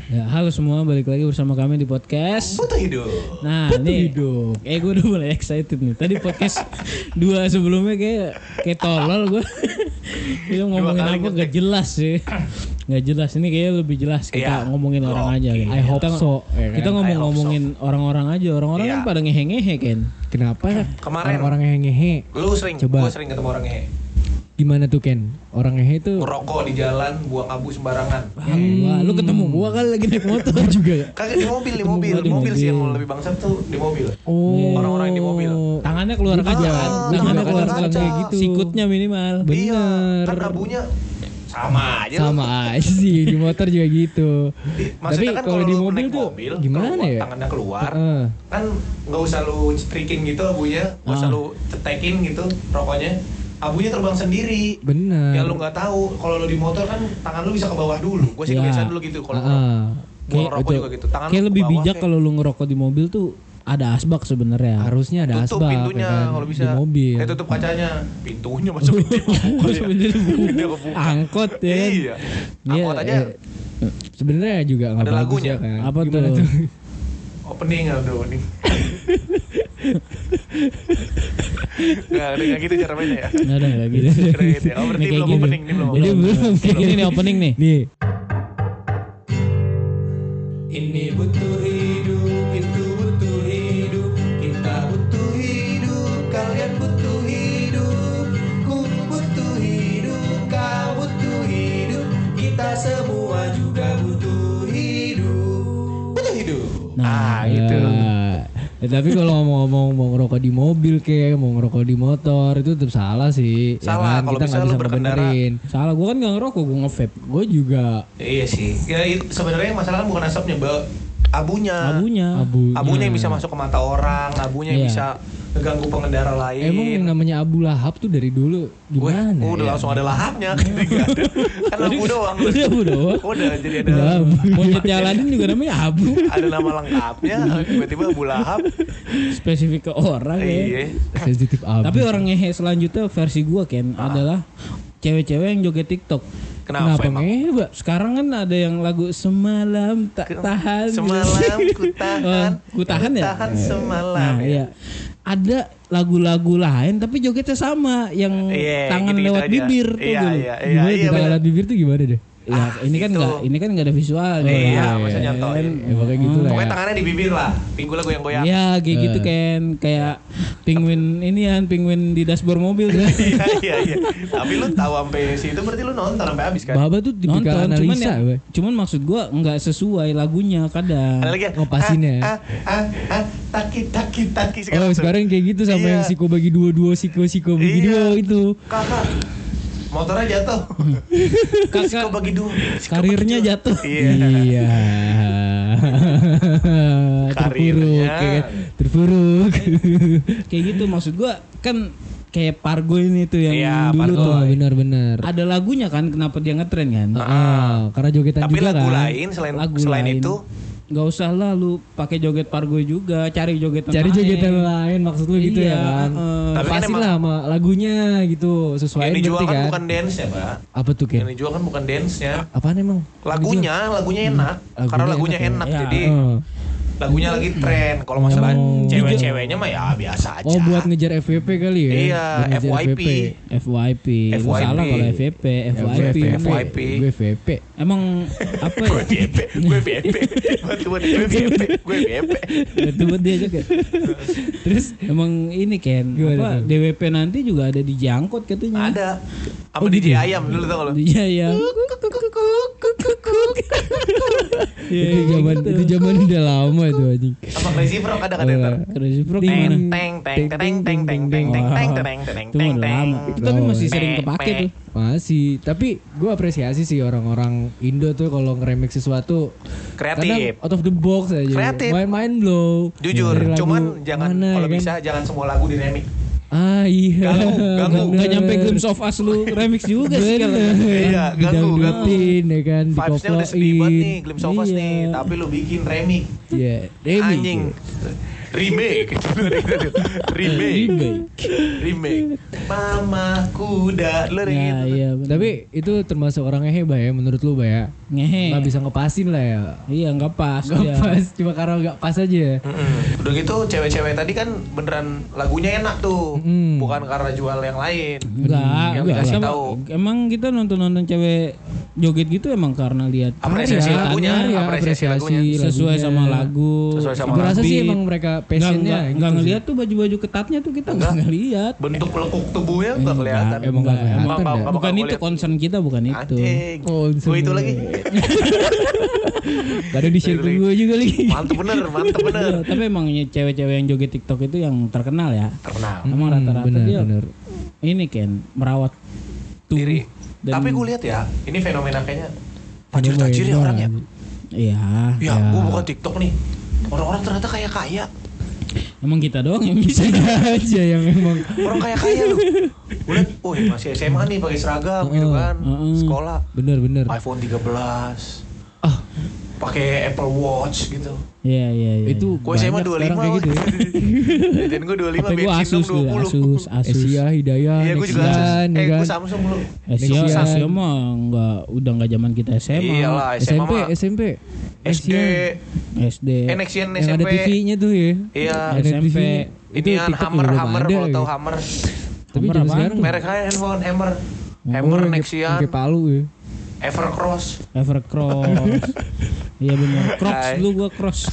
Ya, halo semua, balik lagi bersama kami di podcast Butuh Hidup. Nah nih, gue udah mulai excited nih. Tadi podcast 2 sebelumnya kayak tolol gue. Kita ngomongin apa gak jelas sih. Gak jelas, ini kayaknya lebih jelas. Kita ngomongin orang aja gitu. I hope so. Kita ngomongin orang-orang aja. Orang-orang kan pada ngehe-ngehe kan. Kenapa? Kemarin orang ngehe. lu sering, Coba. gue sering ketemu orang ngehe. Gimana tuh Ken? Orang ngehe tuh Ngerokok di jalan, buang abu sembarangan. Wah, lu ketemu gua kali lagi naik motor juga. Kagak di mobil, Mobil sih yang lebih bangsat tuh di mobil. Oh. Orang-orang yang di mobil. Tangannya keluar kaca kan. Tangannya juga keluar kadang kaca kayak gitu. Sikutnya minimal. Iya, Bener. kan abunya sama aja. Sama aja sih di motor juga gitu. Tapi Maksudnya kan kalau di lu mobil naik tuh gimana keluar, ya? Tangannya keluar, Heeh. kan nggak usah lu striking gitu abunya, nggak usah lu cetekin gitu rokoknya. Abunya terbang sendiri. Bener. Ya lu nggak tahu, kalau lu di motor kan tangan lu bisa ke bawah dulu. Gue sih Ya. kebiasaan dulu gitu kalau buang rokok juga gitu. Tangan Kayak lu ke lebih bawah bijak kayak- kalau lu ngerokok di mobil tuh ada asbak sebenarnya. Harusnya ada tutup asbak pintunya ya kan? kalau bisa. Di mobil. Tutup kacanya. Pintunya masuk Dia kebuka. Angkot ya kan? Iya. Angkot aja Sebenarnya juga nggak Ada bagus lagunya. ya kan? Apa Gimana tuh? opening ada opening. Nggak gitu cara mainnya ya. Nggak ada nggak gitu. Keren gitu ya. Oh berarti Ini kayak belum gini. opening, ini belum Jadi opening. belum. Kayak gini nih opening nih. Nih. Ini butuh hidup, itu butuh hidup, kita butuh hidup, kalian butuh hidup, ku butuh hidup, kau butuh hidup, kita semua juga butuh hidup. Butuh hidup. Gitu. Tapi kalau ngomong mau ngerokok di mobil kayak mau ngerokok di motor itu tetap salah sih. Salah, kalau Kita bisa nggak lu bisa berkendara. ngebenerin. Salah, gue kan nggak ngerokok, gue nge-vape. Gue juga Iya sih. Ya sebenarnya masalah kan bukan asapnya, abunya. Abunya yang bisa masuk ke mata orang, abunya yang Iya. bisa ngeganggu pengendara lain. emang yang namanya abu lahap tuh dari dulu gimana? Udah ya? langsung ada lahapnya. Nggak ada. Kan lampu doang. Udah abu doang. Udah jadi ada Monyet Aladin juga namanya abu. ada nama lengkapnya, tiba-tiba Abu Lahap. Spesifik ke orang ya. Iya. Sensitif abu. Tapi orang ngehe selanjutnya versi gua Ken adalah cewek-cewek yang joget TikTok. Kenapa emang? ngehe, Mbak? Sekarang kan ada yang lagu semalam tak tahan. Semalam ku tahan. Ku tahan ya? Tahan semalam. Nah, ya. iya. Ada lagu-lagu lain tapi jogetnya sama yang Iya, tangan gitu-gitu lewat aja. bibir tuh Iya, dulu. iya, Gimana tuh bener. alat bibir tuh gimana deh? Ya, ini kan itu. enggak ada visual Iya, kan. maksudnya nyontoin. Ya pokoknya gitu lah Pokoknya ya. tangannya di bibir lah. Pinggulnya goyang-goyang. Iya, kayak gitu kan, kayak penguin ini kan, penguin di dashboard mobil kan. Iya. Tapi lu tahu sampai situ berarti lu nonton sampai habis kan? Baba tuh tipikal Nonton, cuman analisa, Mbak. cuman maksud gua enggak sesuai lagunya kadang. Ada lagi ya? Ngepasinnya. Taki. Oh sekarang kayak gitu sama Iya. yang siko bagi dua siko bagi dua itu. Kakak, motornya jatuh. Kakak, Siko bagi dua. karirnya jatuh. Iya. Iya. Terpuruk, Karirnya. ya kan? Terpuruk. Kayak gitu maksud gua kan kayak Pargo ini tuh yang Iya, dulu Pargo. tuh. Oh benar-benar. Ada lagunya kan kenapa dia ngetren kan? Karena jogetan Tapi juga lagu kan. lain Lagu selain lain. itu Nggak usah lah lu pakai joget Pargo juga, cari jogetan Cari lain. jogetan lain maksud lu gitu Iya, ya kan. Tapi kan Pasin emang- lah sama lagunya gitu sesuai yang dijual berarti kan kan. bukan dance-nya, Pak. Apa tuh Yang Ken? dijual kan bukan dance-nya. Apaan emang? Lagunya enak. Karena lagunya enak. ya. Jadi Oh. lagunya lagi tren. Kalau masalah Oh. cewek-ceweweknya mah ya biasa aja. Oh buat ngejar FVP kali ya? Iya, Buat ngejar FYP. FYP. Lu FYP. salah kalau FVP, FYP. FYP. Gue FVP. Emang apa ya? Gue BP. Gue BP. Itu buat dia juga. Terus emang ini Ken, Gimana apa tuh? DWP nanti juga ada di Jangkot katanya. Ada. Sama DJ Ayam dulu tau gak lu? Iya ya. Itu zaman udah lama tuh anjing. Sama Crazy Frog ada kan ntar. Crazy Frog Teng gimana? teng teng teng teng teng teng teng teng teng teng Itu teng udah teng. lama. Itu tapi masih sering kepake tuh. Masih, tapi gue apresiasi sih orang-orang Indo tuh kalau nge-remix sesuatu Kreatif. kadang out of the box aja. Kreatif. Main blow. Jujur, Dari lagu cuman jangan mana, kalau ya kan? bisa jangan semua lagu di remix. Ah iya. Ganggu. Nggak nyampe Glimpse of Us lu remix juga sih kalau. Iya, ganggu. Didangdutin ya kan, Vibes-nya udah sedih banget nih, Glimpse of Us Iya. nih, tapi lu bikin remix. Iya, remix. Anjing. Remake. Mama kuda Ya, iya, Tapi itu termasuk orang ngehe Bay ya menurut lu Bay ya? Ngehe. Nggak bisa ngepasin lah ya. Iya nggak pas. Nggak pas, cuma karena nggak pas aja. Udah gitu cewek-cewek tadi kan beneran lagunya enak tuh, bukan karena jual yang lain. Yang dikasih tahu. Emang kita nonton cewek joget gitu emang karena lihat apresiasi lagunya, apresiasi lagunya sesuai sama lagu. Sesuai sama Gue rasa lagu. sih emang mereka passionnya Nggak ngelihat tuh baju-baju ketatnya tuh kita nggak ngelihat. Bentuk lekuk tubuhnya nggak kelihatan. Emang nggak kelihatan. Bukan itu concern kita, bukan itu. Oh, Gue itu lagi. Kadang di share ke gue juga lagi. Mantep bener. Iya, tapi emang cewek-cewek yang joget TikTok itu yang terkenal ya. Terkenal. Emang rata-rata dia bener. ini kan merawat tubuh. Diri. Dan- Tapi gue lihat ya, ini fenomena kayaknya tajir-tajir ya orangnya. Iya. Ya, gue buka TikTok nih. Orang-orang ternyata kaya. Emang kita doang yang bisa. Aja yang emang Orang kaya loh. Gue liat, masih SMA nih pakai seragam gitu kan. Sekolah. bener. iPhone 13. Pakai Apple Watch gitu. Iya. Itu Gue SMA banyak sekarang 25 kayak gitu ya. Dan gue 25 HP gua bensin Asus dong dulu, 20. Asus. Asia, Hidayah, Iya gue juga Asus. Nexian, ya Gue kan? Samsung dulu. Asia mah udah nggak zaman kita SMA. Iyalah SMA mah. SMP, SD. SD. Nexian yang ada SMP. TV-nya tuh ya. Iya. Ada SMP. TV. Itu Inian TikTok Hammer belum ada kalau ya. tahu Hammer. Tapi Hammer zaman apaan sekarang tuh? Merek handphone Hammer. Hammer Nexian. Pakai palu ya. Evercross. Evercross. Iya benar. Crocs Hai. dulu gua Crocs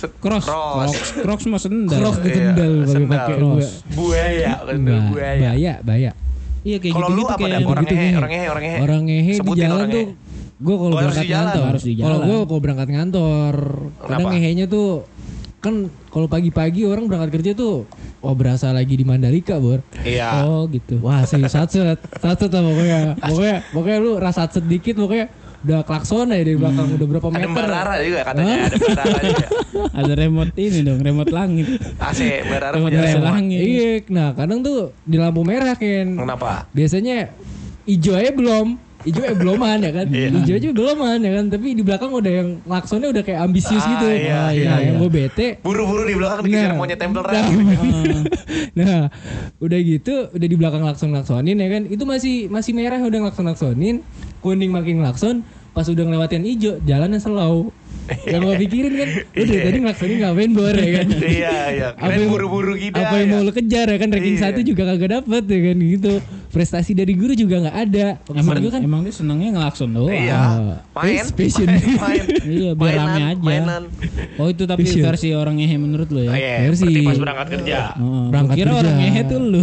mah sendal. Crocs Iya, ketendal sendal. pakai Crocs. Buaya, kendal buaya. Baya. Iya kayak Kalau lu gitu-gitu apa kayak dah? Orang gitu ngehe, nih. orang ngehe. Orang ngehe di Sebutin jalan orang tuh ngehe. gue kalau Harus berangkat di jalan. ngantor. Harus di Kalau jalan. gue kalau berangkat ngantor, kadang Kenapa? ngehenya tuh kan kalau pagi-pagi orang berangkat kerja tuh berasa lagi di Mandalika, Bor. Iya. Oh gitu. Wah, sih satset lah pokoknya lu rasa sedikit pokoknya udah klakson aja di belakang udah berapa Ada meter. Mbak Rara juga katanya, ada Mbak Rara juga. Ada remote ini dong, remote langit. AC Mbak Rara Remote punya AC remote. langit. Iya, nah kadang tuh di lampu merah Ken. Kenapa? Biasanya hijau aja belum. Hijau beloman ya kan. Hijau aja beloman ya kan. Tapi di belakang udah yang klaksonnya udah kayak ambisius gitu. Iya. Yang gue bete. Buru-buru di belakang dikejar monyet tempel Rara. Nah, udah gitu, udah di belakang laksonin ya kan. Itu masih merah udah laksonin, kuning makin lakson. Pas udah ngelewatin hijau, jalannya slow. Yang gue pikirin kan, udah tadi ngelaksonin ngapain Bor ya kan. Iya. Keren buru-buru gitu. Apa yang mau lo kejar ya kan, ranking 1 juga kagak dapet ya kan gitu. Prestasi dari guru juga gak ada. Emang dia senangnya ngelakson doang. Iya. Main. Passion. Main. Iya, biar rame aja. Mainan. Oh itu tapi Passion. versi orang ngehe menurut lo ya? Iya, Versi. berarti pas berangkat kerja. Berangkat Kira kerja. orang ngehe tuh lu.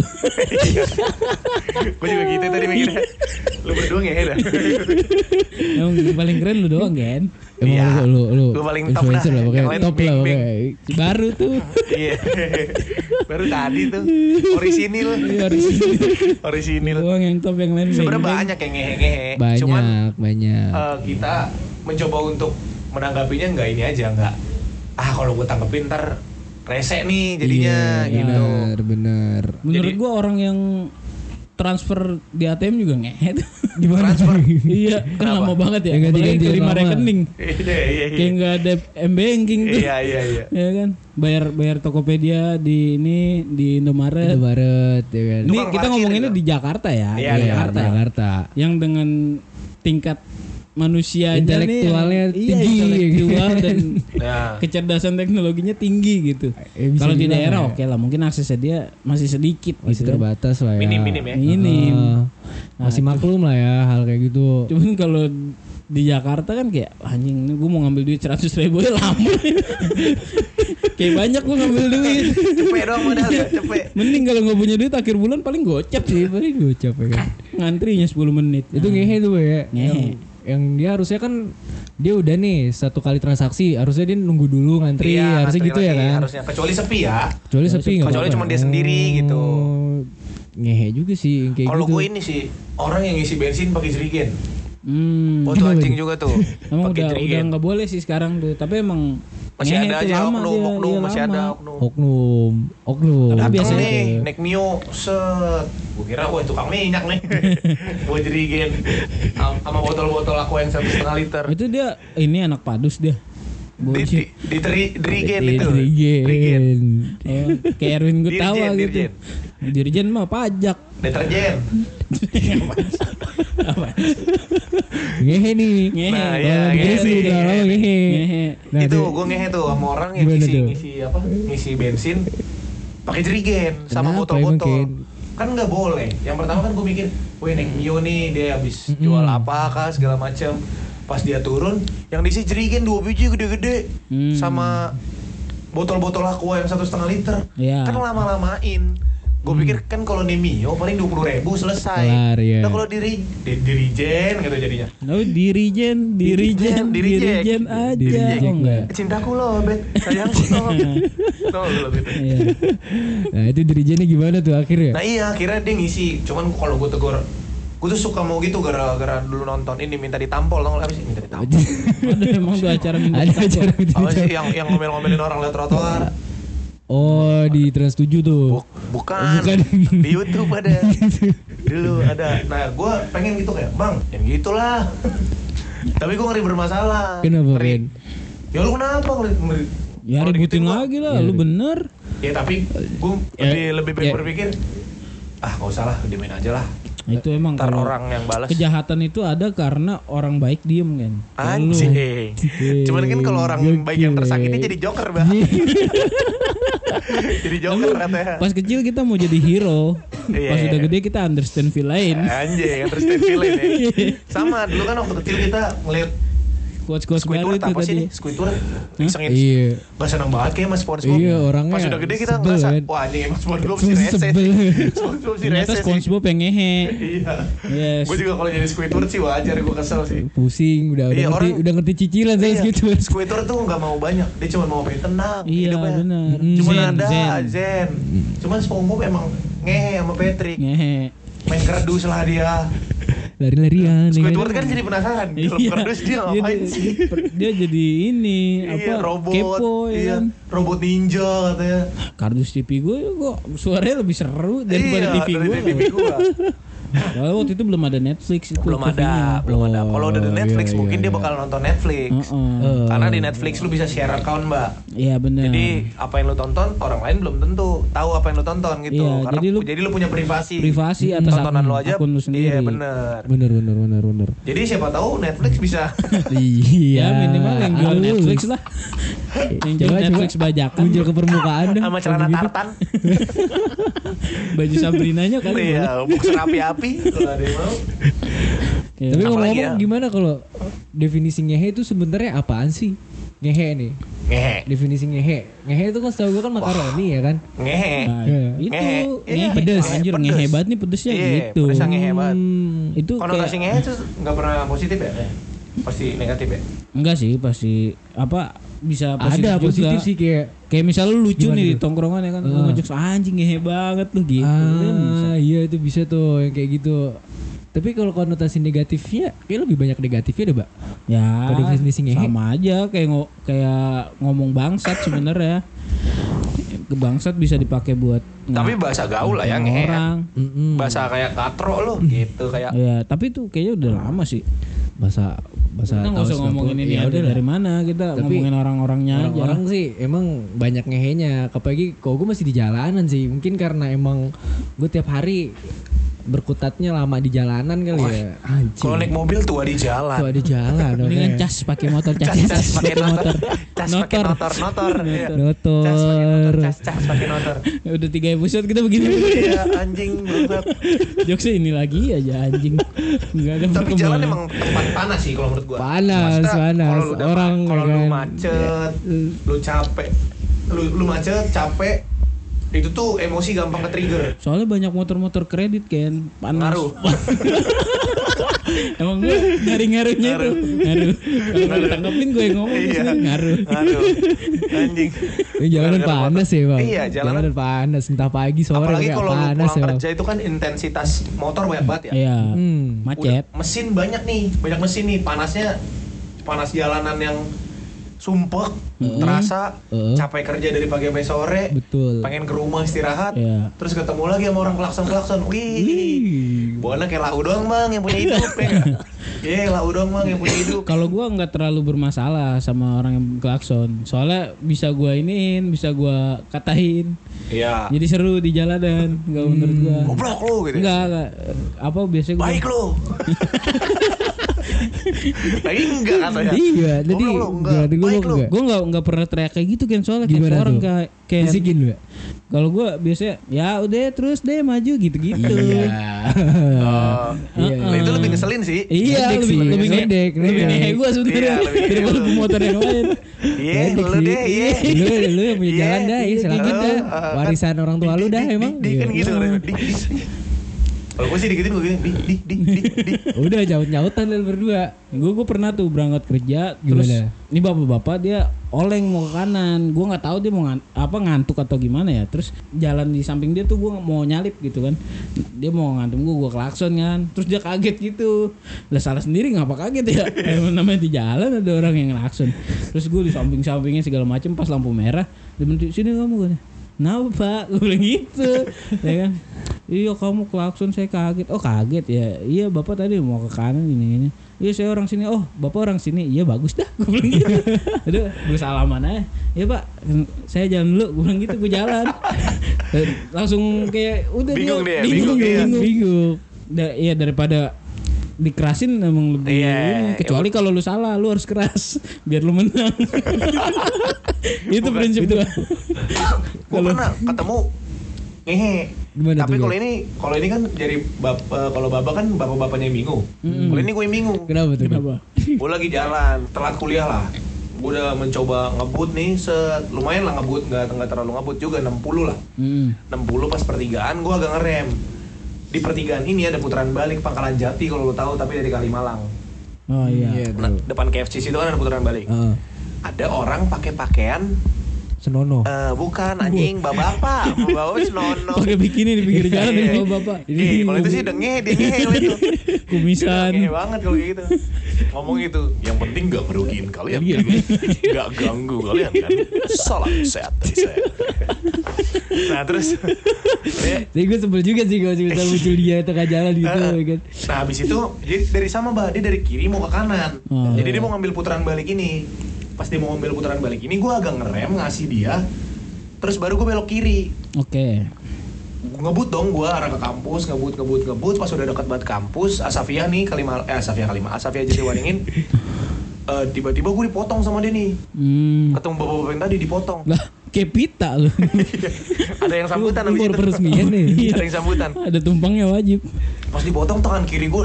Gue juga gitu tadi mikirnya. Lu berdua ngehe dah. Emang paling keren lu doang kan? Emang Iya. lu Gua paling top influencer dah. lah pokoknya Yang lain top lah bing-bing. pokoknya. Baru tuh. Iya. Baru tadi tuh. Orisinil. Iya, harus Orisinil. doang yang top, yang lain Sebenarnya beng-beng. banyak yang ngehe-ngehe. Cuman Banyak. kita mencoba untuk menanggapinya nggak ini aja, nggak kalau gue tanggepin ntar rese nih jadinya Iya, gitu. bener. Menurut Jadi- gua orang yang transfer di ATM juga ngehe tuh. Gimana? Transfer. Iya, kan Kenapa? lama banget ya. Yang Apalagi ganti-gantian terima lama. rekening. Iya. Kayak nggak ada m-banking tuh. Iya. Ya kan, bayar Tokopedia di ini di Indomaret. Indomaret ya kan. Ini Tukang kita parkir ngomonginnya juga. di Jakarta ya. Iya, di di Jakarta. Yang dengan tingkat manusia aja nih, Intelektualnya iya, tinggi. intelektual dan Nah, kecerdasan teknologinya tinggi gitu. Bisa Kalau di dibilang daerah ya. oke lah, mungkin aksesnya dia masih sedikit Masih gitu. terbatas lah ya. minim ya. Minim. Masih maklum lah ya hal kayak gitu. Cuman kalau di Jakarta kan kayak anjing, gue mau ngambil duit 100.000 ya lama. Kayak banyak gue ngambil duit. Cepet doang modal ya, cepet. Mending kalau nggak punya duit akhir bulan paling gocap sih. Paling gocap ya kan. Ngantrinya 10 menit. Itu ngehe tuh ya. Ngehe. Yang dia harusnya kan dia udah nih 1 kali transaksi, harusnya dia nunggu dulu ngantri, Iya, harusnya ngantri gitu ya lagi, kan. Harusnya kecuali sepi ya. Kecuali sepi nggak Kecuali apa-apa. cuma dia sendiri gitu. Ngehe juga sih yang kayak Kalau gitu. gue ini sih orang yang ngisi bensin pakai jerigen. Hmm. Itu anjing juga tuh. Emang Pakai udah jerigen. nggak boleh sih sekarang tuh. Tapi emang Masih ngehe ada tuh aja lama oknum, dia, oknum iya masih lama. ada oknum. Oknum. Tapi Dateng biasanya nih, naik Mio, set. Gue kira, wah tukang minyak nih. Gue jerigen sama botol-botol aku yang 1,5 liter. Itu dia ini anak padus dia. Dirigen itu. Dirigen. Kayak Erwin Gutawa gitu. Dirjen mah pajak. Deterjen. Apa? Ngehe nih. Nah, iya, ngehe. Nah, itu gue ngehe tuh sama orang yang ngisi bensin pakai jerigen sama botol-botol. Kan nggak boleh. Yang pertama kan gue mikir, wih Nek Mio nih dia habis jual apa kah segala macam. Pas dia turun, yang diisi jerigen 2 biji gede-gede sama botol-botol aqua yang 1,5 liter. Kan lama-lamain. Gue pikir kan kalau Mio paling 20.000 selesai. Nah kalau dirijen gitu jadinya. Dirijen aja. Oh enggak. Cintaku loh, Bet. Sayangku loh. Nah itu dirijennya gimana tuh akhirnya? Nah iya akhirnya dia ngisi. Cuman kalau gue tegur, gue tuh suka mau gitu gara-gara dulu nonton ini minta ditampol, tau gak sih minta ditampol. Ada emang tuh acara minta ditampol. Apa sih yang ngomel-ngomelin orang lewat trotoar? Oh di Trans 7 tuh. Bukan. Di YouTube ada. Dulu ada. Nah gue pengen gitu kayak bang, yang gitulah. Tapi gue ngeri bermasalah. Kenapa Ren? Ya lu kenapa ngeri? Ya ributin lagi lah, lu bener. Ya tapi gue lebih baik berpikir, gak usah lah, dimain aja lah. Itu emang ntar orang yang balas. Kejahatan itu ada karena orang baik diem kan. Anjing. Cuman kan kalau orang baik yang tersakiti jadi joker, Mbak. Jadi joker katanya. Pas kecil kita mau jadi hero. Pas udah gede kita understand villain. Anjing, understand villain ya. Sama dulu kan waktu kecil kita ngeliat Quotes baru itu apa sih tadi. nih? Squidward isengin. Iya. Gak seneng banget kayak Mas SpongeBob. Iya, orangnya pas udah gede kita sebel, ngerasa, kan? wah anjing Mas SpongeBob sih rese sih. SpongeBob sih Ternyata rese sih. SpongeBob yang ngehe. Iya. Yes. Gue juga kalau jadi Squidward sih wajar, gue kesel sih. Pusing, udah ngerti cicilan sama Squidward. Squidward tuh gak mau banyak, dia cuma mau pengen tenang hidupnya. Iya benar. Cuma ada Zen. Cuman SpongeBob emang ngehe sama Patrick. Ngehe. Main kerdus lah dia. Lari-larian. Squidward kan jadi penasaran. Di dalam kerdus dia ngapain sih? Dia jadi ini robot. Kepo ya kan. Robot ninja katanya. Kardus TV gue kok suaranya lebih seru daripada TV gue. Kalau waktu itu belum ada Netflix itu. Belum ada. Kalau udah di Netflix mungkin dia bakal nonton Netflix. Karena di Netflix lu bisa share account, Mbak. Iya benar. Jadi apa yang lu tonton orang lain belum tentu tahu apa yang lu tonton gitu. Iya, Karena jadi lu punya privasi atas tontonan lu aja. Akun lu sendiri. Iya benar. Bener. Jadi siapa tahu Netflix bisa. Iya. Ya minimal yang jual Netflix lah. Yang jual Netflix bajakan muncul ke permukaan dah. Sama celana tartan. Baju Sabrinanya kali. Iya, boxer api-api kalau ada yang mau. Ya. Tapi ngomong gimana kalau definisi ngehe itu sebenarnya apaan sih? Ngehe nih. Definisi ngehe. Ngehe itu kan setahu gue kan makaroni ya kan? Ngehe. Ngehe pedes. Anjir ngehe banget nih pedesnya gitu. Pedesnya ngehe banget. Itu konotasi ngehe itu enggak pernah positif ya? Pasti negatif ya? Enggak sih, pasti bisa positif ada juga. Positif sih kayak misalnya lu lucu nih di tongkrongan ya kan, lu ngejokes anjing ngehe banget lu gitu. Iya itu bisa tuh yang kayak gitu. Tapi kalau konotasi negatifnya kayak lebih banyak negatifnya deh, Mbak. Ya. Sama aja kayak ngomong bangsat sebenarnya. Bangsat bisa dipakai buat tapi bahasa gaul lah ya ngehe. Bahasa kayak katro lo gitu kayak. Ya, tapi itu kayaknya udah lama sih. Bahasa kita nggak usah ngomongin ini ya udah dari mana kita ngomongin orang-orangnya aja. Orang sih emang banyak ngehenya, apalagi kalau gue masih di jalanan sih, mungkin karena emang gue tiap hari berkutatnya lama di jalanan kali ya. Kalau naik mobil tua di jalan. Mendingan cas pakai motor, cas pakai motor. Cas pakai notor. Cas pakai notor. Udah 3 episode kita begini. Iya, anjing banget. Jokesnya ini lagi aja anjing. Enggak ada. Tapi jalan emang tempat panas sih kalau menurut gua. Panas. Kalau lu macet, lu capek. Lu macet, capek. Itu tuh emosi gampang ke-trigger. Soalnya banyak motor-motor kredit kan, panas. Ngaruh. Emang gue ngaruh-ngaruhnya tuh. Ngaruh. Kalau ditangkapin gue yang ngomong ngaruh. Anjing. Jalanan panas ya, Bang. Iya, jalanan panas entah pagi sore apalagi kalau panas pulang kerja itu kan intensitas motor banyak banget ya. Iya. Macet. Mesin banyak nih, panas jalanan yang sumpek, terasa capek kerja dari pagi sampai sore. Betul. Pengen ke rumah istirahat. Terus ketemu lagi sama orang klakson. Wih. Buana kayak lau doang, Bang, yang punya hidup ya. Lah udah mang yang punya hidup. Kalau gua nggak terlalu bermasalah sama orang yang klakson. Soalnya bisa gua iniin, bisa gua katain. Iya. Jadi seru di jalanan, enggak menurut gua. Goblok lu gitu. Enggak. Apa biasanya gua Baik lu. Lagi enggak katanya. Iya, jadi baik lu. Gue nggak pernah teriak kayak gitu kan soalnya Gimana kayak orang tuh? kayak Bisikin lu ya? kalau gue biasanya ya udah terus deh maju gitu-gitu. Nah, itu lebih ngeselin sih. Iya, Ngedek sih, lebih ngedek. lebih ngehe gue sebenarnya Iya, lebih ngehe daripada lu. pemotor yang lain. Iya, Ngedek lu sih. deh, iya. Lu yang punya jalan dah, Iya, silakan gitu. dah. Warisan orang tua lu dah emang. Dik kan Iya. gitu kan. Dik. Kalau gue sih dikitin gue gini, dik. Udah nyaut-nyautan lu berdua. Gue pernah tuh berangkat kerja terus Gimana? ini bapak-bapak dia oleng mau ke kanan. Gue nggak tahu dia mau ngantuk atau gimana ya. Terus jalan di samping dia tuh gue mau nyalip gitu kan. Dia mau ngantem gue klakson kan. Terus dia kaget gitu. Lah salah sendiri ngapa kaget ya? Emang namanya di jalan ada orang yang klakson. Terus gue di samping-sampingnya segala macam pas lampu merah. Dia berhenti, sini kamu gue. Kenapa pak? Gue bilang gitu. Ya kan? Iya kamu klakson saya kaget. Oh kaget ya. Iya bapak tadi mau ke kanan gini. Iya saya orang sini. Oh bapak orang sini. Iya bagus dah. Gue bilang gitu. Aduh gue salaman aja. Iya pak saya jalan dulu. Gue bilang gitu gue jalan. Langsung kayak udah Bingung dia. dia, bingung. Iya daripada dikerasin emang lebih ini. Kecuali kalau lu salah lu harus keras biar lu menang. Itu prinsip gua. Gue pernah ketemu ngehe. Gimana Tapi tuh, kalau ini kan jadi kalau bapak kan bapak-bapaknya yang bingung. Kalau ini gue yang bingung. Kenapa tuh? Kenapa? Gue lagi jalan telat kuliah lah. Gue udah mencoba ngebut nih, lumayan lah ngebut, nggak terlalu ngebut juga, 60 lah. 60 pas pertigaan gue agak ngerem. Di pertigaan ini ada putaran balik Pangkalan Jati kalau lo tahu, tapi dari Kalimalang. Oh iya. Nah, depan KFC itu kan ada putaran balik. Heeh. Ada orang pakai pakaian Senono. bukan anjing, bapak senono. Pakai bikini di pinggir jalan Iya. ya bapak. Kalau itu sih dia ngehe kalau itu. Kumisan. Ngehe banget kalau gitu. Ngomong gitu, yang penting gak merugiin kalian, gak ganggu kalian kan. Salam sehat dari saya. Nah terus, Jadi gue sebel juga sih kalau cerita muncul dia tengah jalan gitu ya kan. nah habis itu jadi dari sama mbak, dia dari kiri mau ke kanan. Oh. Jadi dia mau ngambil putaran balik ini. Pas dia mau ngambil putaran balik ini, gue agak ngerem ngasih dia. Terus baru gue belok kiri. Oke. Ngebut dong gue arah ke kampus, ngebut. Pas udah dekat banget kampus, Asafia nih Asafia Jatiwaringin. Tiba-tiba gue dipotong sama dia nih. Ketemu bapak-bapak yang tadi dipotong. Lah kayak pita lu. Ada yang sambutan habis Baru itu. peresmian nih. Iya. Ada yang sambutan. Ada tumpangnya wajib. Pas dipotong tangan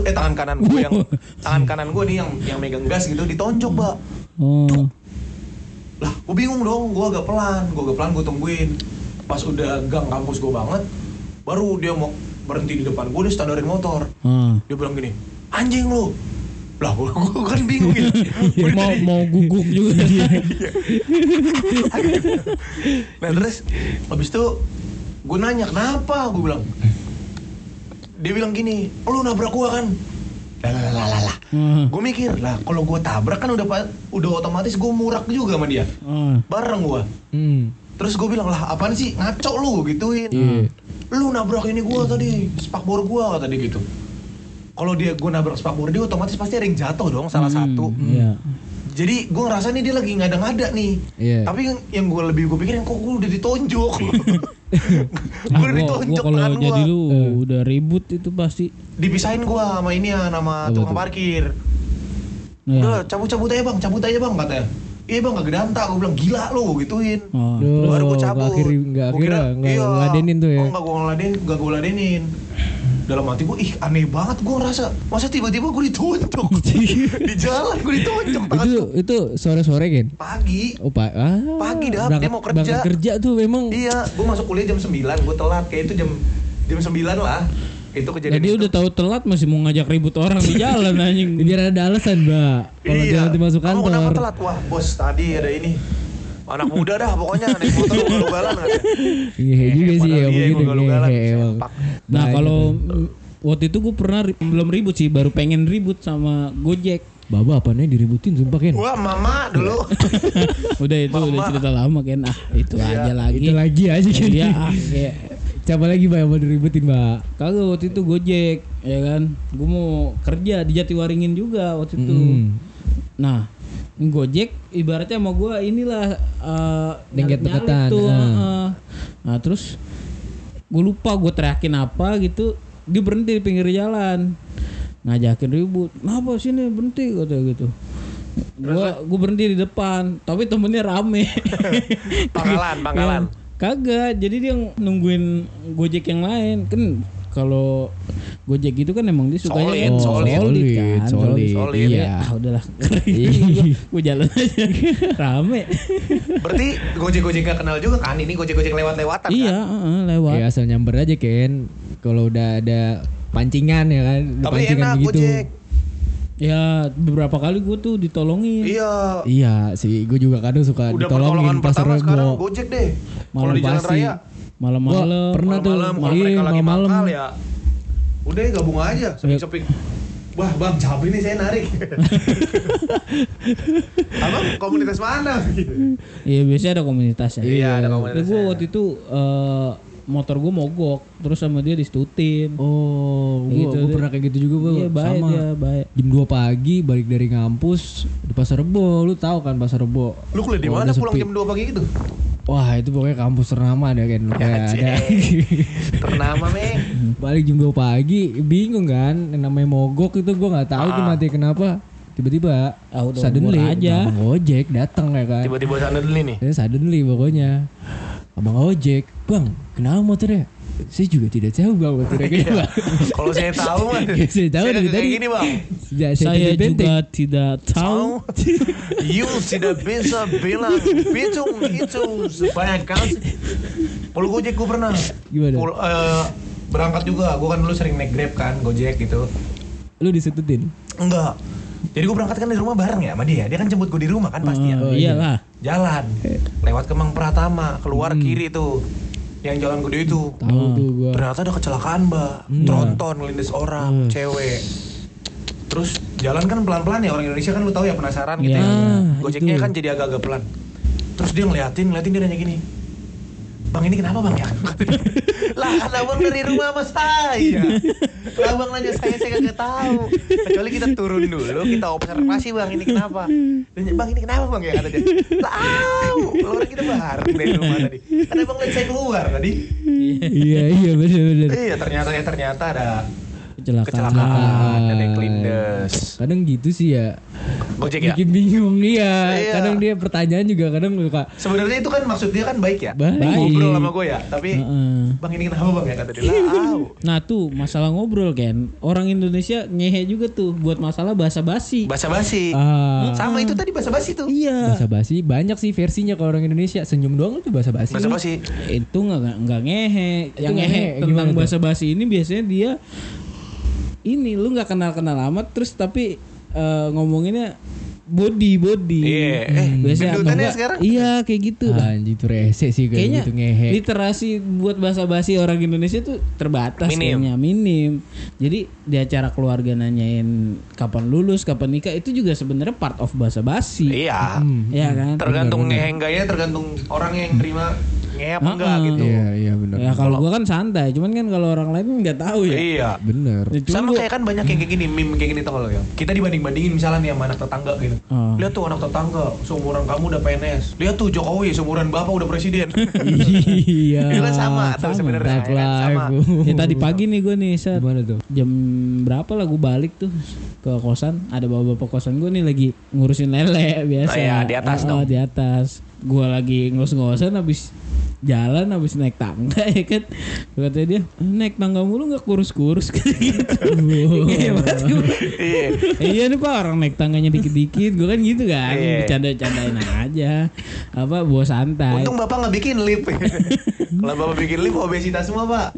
kanan gue nih yang megang gas gitu ditonjok, Mbak. Oh. Lah, gue bingung dong, gue agak pelan, gue tungguin. Pas udah gang kampus gue banget, baru dia mau berhenti di depan gue, dia standarin motor. Dia bilang gini, anjing lu. Lah, gue kan bingung gitu. mau guguk juga dia. Nah terus, habis itu gue nanya kenapa, gue bilang. Dia bilang gini, lu nabrak gue kan. Lah. Gue mikir lah, kalau gue tabrak kan udah otomatis gue murak juga sama dia. Bareng gue. Terus gue bilang lah, apaan sih ngaco lu gituin. Lu nabrak ini gue tadi, spakbor gue kata dia gitu. Kalau gue nabrak spakbor dia, otomatis pasti ada yang jatuh dong, salah satu. Iya. Jadi gue ngerasa nih dia lagi ngada-ngada nih. Tapi yang gue pikirin, kok gue udah ditonjok. Gue udah ditonjok kalau tangan jadi gue. lu udah ribut itu pasti. Dipisahin gue sama ini ya, nama tukang parkir. Udah cabut aja bang katanya. Iya bang, gak gedanta, gue bilang gila lu gituin. Baru gue cabut. Gak ngeladenin tuh ya. Oh gak gue ladenin. Dalam hati gue, ih aneh banget gue ngerasa. Masa tiba-tiba gue ditonjok. Di jalan gue ditonjok tangan. Itu sore-sore kan? Pagi. Pagi dah, dia mau kerja. Berangkat kerja tuh memang. Iya, gue masuk kuliah jam 9, gue telat. Kayak itu jam 9 lah. Itu kejadian. Jadi udah tahu telat masih mau ngajak ribut orang di jalan anjing. Biar ada alasan, Mbak. Kalau jangan masuk kantor. Kamu kenapa telat? Wah, bos tadi ada ini. Anak muda dah pokoknya naik motor ugal-ugalan katanya. Iya juga sih ya begitu. Nah, kalau waktu itu gue pernah belum ribut sih, baru pengen ribut sama Gojek. Baba apanya diributin sumpah Ken. Wah, mama dulu. Udah cerita lama Ken. Itu aja lagi. Itu lagi aja Ken. Iya, Coba lagi Mbak yang mau diributin Mbak. Kagak waktu itu Gojek ya kan. Gue mau kerja di Jatiwaringin juga waktu itu. Nah, Gojek ibaratnya sama gue inilah dengket deketan. Nah terus gue lupa gue teriakin apa gitu, dia berhenti di pinggir jalan ngajakin ribut. Kenapa sini berhenti kata gitu. Gue berhenti di depan, tapi temennya rame. Pangkalan. Kagak, jadi dia nungguin Gojek yang lain kan. Kalau Gojek gitu kan emang dia sukanya solid. Iya. Udahlah. Gue jalan aja. Rame. Berarti Gojek gak kenal juga kan? Ini Gojek lewat-lewatan kan? Iya, lewat. Ya asal nyamber aja Ken. Kalau udah ada pancingan ya kan. Tapi pancingan enak begitu. Gojek. Ya beberapa kali gue tuh ditolongin. Iya sih, gue juga kadang suka udah ditolongin pas pertolongan pertama sekarang Rebo. Gojek deh. Kalau di jalan raya malam-malam. Pernah tuh kalau mereka lagi mangkal ya. Udah gabung aja, sepik-sepik. Wah bang, capek nih saya narik. Abang komunitas mana? Iya biasanya ada komunitasnya. Iya ada komunitasnya. Gue waktu itu motor gue mogok, terus sama dia disetutin. Gue pernah kayak gitu juga Iya baik sama. dia baik. Jam 2 pagi balik dari ngampus di Pasar Rebo, lu tahu kan Pasar Rebo? Lu kuliah di mana pulang jam 2 pagi gitu? Wah itu pokoknya kampus ternama deh kan. Ada ternama meh. Balik jam 2 pagi bingung kan, yang namanya mogok itu gue nggak tahu tuh mati kenapa. Tiba-tiba suddenly aja abang ojek datang ya kan. Tiba-tiba suddenly nih. Suddenly pokoknya abang ojek, bang kenapa motornya? Saya juga tidak tahu bang motornya kenapa. Kalau saya tahu mah. Saya tahu dari tadi. Gini bang. Saya juga tidak tahu. You tidak bisa bilang itu sebanyak kali. Kalau Gojek gue pernah. Gimana? Berangkat juga. Gue kan dulu sering naik Grab kan, Gojek gitu. Lu disetutin? Enggak. Jadi gue berangkat kan dari rumah bareng ya sama dia. Dia kan jemput gue di rumah kan pasti ya. Iyalah. Jalan. Lewat Kemang Pratama, keluar kiri tuh. Yang jalan gede itu. Tahu tuh gua. Ternyata ada kecelakaan, Mbak. Tronton ngelindes orang, cewek. Terus jalan kan pelan-pelan ya, orang Indonesia kan lu tahu ya penasaran gitu ya. Gojeknya kan jadi agak-agak pelan. Terus dia ngeliatin dia nanya gini. Bang ini kenapa bang ya? Lah kan abang dari rumah sama saya. Lah abang nanya saya kagak tahu. Kecuali kita turun dulu, kita observasi bang ini kenapa. Nanya bang ini kenapa bang ya kata dia. Lah orang kita bareng dari rumah tadi. Kan abang lihat saya keluar tadi. Iya benar. Iya ternyata ada Kecelakaan. ada yang kelindes. Kadang gitu sih ya. Gojek ya? Bikin bingung iya. Iya. Kadang dia pertanyaan juga kadang suka. Sebenarnya itu kan maksud dia kan baik ya. Baik. Ngobrol sama gue ya. Tapi bang ini kenapa bang ya kata dia. Lah Nah tuh masalah ngobrol kan. Orang Indonesia ngehe juga tuh buat masalah basa-basi. basa-basi. Sama itu tadi basa-basi tuh. Iya. Basa-basi banyak sih versinya kalau orang Indonesia. Senyum doang itu basa-basi. Basa-basi. Itu nggak ngehe. Yang ngehe ngehe tentang gimana tuh? basa-basi ini biasanya dia ini lu nggak kenal amat terus tapi ngomonginnya body. Iya. Biasanya atau Gendutannya enggak, sekarang? iya kayak gitu. Anjir itu rese sih Kayaknya kayak gitu ngehe. literasi buat basa-basi orang Indonesia tuh terbatas kayaknya, minim. Jadi di acara keluarga nanyain kapan lulus, kapan nikah itu juga sebenarnya part of basa-basi. Iya. Iya kan? Tergantung ngehe enggaknya tergantung orang yang terima ngehe apa enggak gitu. Iya benar. Ya kalau gua kan santai, cuman kan kalau orang lain nggak tahu ya. Iya. Bener. Ya, cuman Sama gua- kayak kan banyak yang kayak gini, meme kayak gini tau lo ya. Kita dibanding-bandingin misalnya nih sama anak tetangga gitu. Lihat tuh anak tetangga, seumuran kamu udah PNS. Lihat tuh Jokowi, seumuran bapak udah presiden. Iya. Itu kan sama tuh sebenarnya. Live Kan sama. Ya tadi pagi nih gue nih set Gimana tuh? jam berapa lah gue balik tuh ke kosan, ada bapak-bapak kosan gue nih lagi ngurusin lele biasa. Oh iya, di atas dong. Di atas. Gue lagi ngos-ngosan habis jalan habis naik tangga ya kan. Katanya dia naik tangga mulu nggak kurus-kurus kayak gitu. Iya banget gua. Iya nih pak orang naik tangganya dikit-dikit gue kan gitu kan. Iya. Bercanda-candain aja apa bawa santai. Untung bapak nggak bikin lip. Kalau bapak bikin lip obesitas semua pak.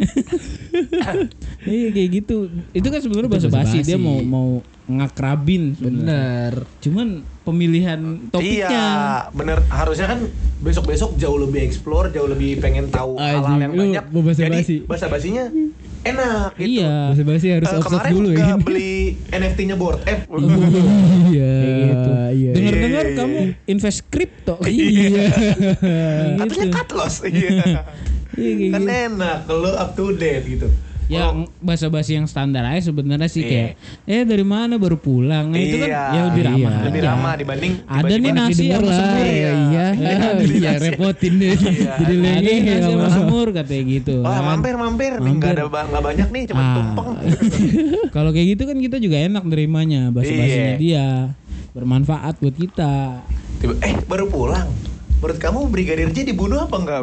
Iya kayak gitu. Itu kan sebenarnya basa-basi dia mau ngakrabin sebenarnya. Bener. Cuman pemilihan topiknya. Iya, bener. Harusnya kan besok-besok jauh lebih explore, jauh lebih pengen tahu hal-hal yang Lu banyak. mau basa-basi. Jadi basa-basinya enak gitu. Iya. Basa-basi harus offset Kemarin dulu ya. nggak beli NFT-nya board F. Iya. Kayak gitu. Iya. Dengar-dengar Iya. kamu invest kripto. Iya. Katanya cut loss. Iya. Iya kayak Kan gitu. enak kalau up to date gitu. Ya basa-basi yang standar aja sebenarnya sih kayak dari mana baru pulang. Nah, itu kan ya lebih ramah. Lebih aja. ramah dibanding Ada nih nasi sama semur. Iya repotin deh. Jadi Ada nasi sama semur katanya gitu. Wah, mampir nih enggak banyak nih cuma tumpeng. Kalau kayak gitu kan kita juga enak nerimanya, basa-basinya dia. Bermanfaat buat kita. Baru pulang. Menurut kamu Brigadir J dibunuh apa enggak?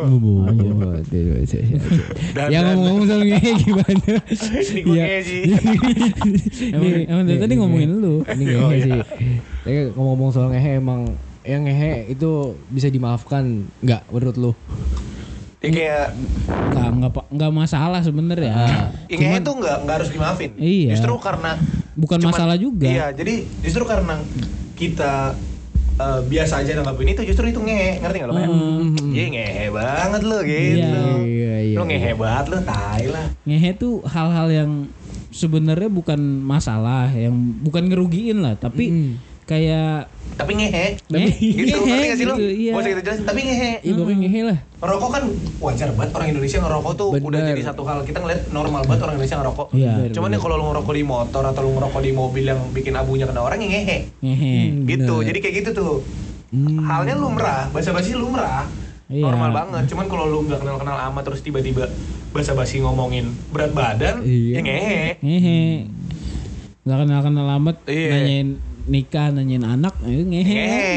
Ya ngomong-ngomong soal ngehe gimana? Ini gue ngehe sih. Emang dari tadi ngomongin lu. Ini ngehe sih. Tapi ngomong-ngomong soal ngehe emang yang ngehe itu bisa dimaafkan nggak menurut lu? Ya kayak nggak masalah sebenarnya. Ngehe itu nggak harus dimaafin. Iya. Justru karena bukan masalah juga. Iya, jadi justru karena kita biasa aja nanggapin itu, justru itu ngehe, ngerti nggak lo? Iya ngehe banget lo gitu. Iya. Lo ngehe banget lo, tai lah. Ngehe tuh hal-hal yang sebenarnya bukan masalah, yang bukan ngerugiin lah, tapi kayak tapi ngehe gitu, ngerti gak sih lo? Iya. Mau kita jelasin, tapi ngehe. Iya pokoknya ngehe lah. Ngerokok kan wajar banget, orang Indonesia ngerokok tuh Bener. udah jadi satu hal, kita ngeliat normal banget orang Indonesia ngerokok. Iya. Cuman ya kalau lo ngerokok di motor atau lo ngerokok di mobil yang bikin abunya kena orang, ya ngehe. Gitu, jadi kayak gitu tuh. Halnya lumrah, basa-basi lumrah. Iya. Normal banget. Cuman kalau lu nggak kenal-kenal amat terus tiba-tiba basa-basi ngomongin berat badan, ya ngehe. Nggak kenal amat, Iya. nanyain nikah, nanyain anak, ngehe.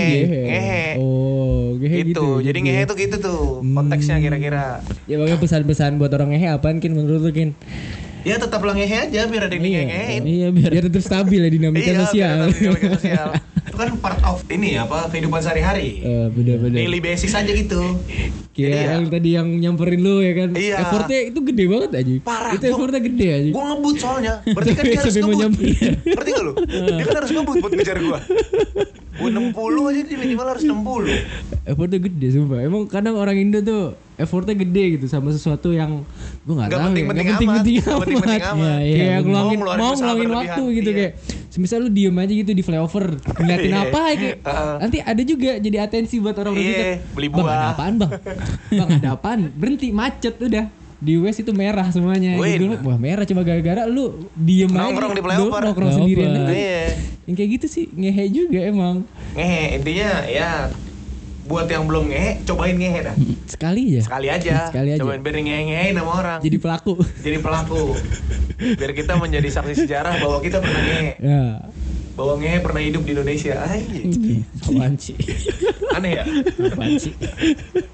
Oh, ngehe gitu. Jadi ngehe tuh gitu tuh konteksnya kira-kira. Ya pokoknya pesan-pesan buat orang ngehe apaan Kin menurut lu Kin? Ya tetap lah ngehe aja biar ada yang ngehein. Iya Biar tetap stabil ya dinamika sosial. Dinamika sosial. Itu kan part of ini apa kehidupan sehari-hari. Bener-bener. Daily basis aja gitu. Kayak yang tadi yang nyamperin lu ya kan. Iya. Effortnya itu gede banget aja. Parah. Itu effortnya gede aja. Gue ngebut soalnya. Berarti kan dia harus Sampai mau ngebut. nyamperin. Ngerti gak lu? Dia kan harus ngebut buat ngejar gue. Gue 60 aja dia minimal harus 60. Effortnya gede sumpah. Emang kadang orang Indo tuh effortnya gede gitu sama sesuatu yang gue nggak tahu ya. penting-penting Nggak penting-penting amat. amat. Iya, Kayak ngeluangin Mau ngeluarin mau usaha ngeluangin berlebihan. waktu gitu Iya. kayak semisal lu diem aja gitu di flyover ngeliatin Iya. apa kayak nanti ada juga jadi atensi buat orang Iya, kita. beli Bang buah. ada apaan bang? Bang ada apaan? Berhenti macet udah. Di West itu merah semuanya. Wih. Gitu. Wah merah cuma gara-gara lu diem Nongkrong aja. di flyover. Nongkrong sendirian aja. Iya. Yang kayak gitu sih ngehe juga emang. Ngehe intinya ya buat yang belum ngehe cobain ngehe dah. Sekali ya. Sekali aja. Sekali aja. Cobain biar ngehe-ngehein sama orang. Jadi pelaku. Jadi pelaku. Biar kita menjadi saksi sejarah bahwa kita pernah ngehe. Ya. Bahwa ngehe pernah hidup di Indonesia. Apaan sih? Aneh ya? Apaan sih?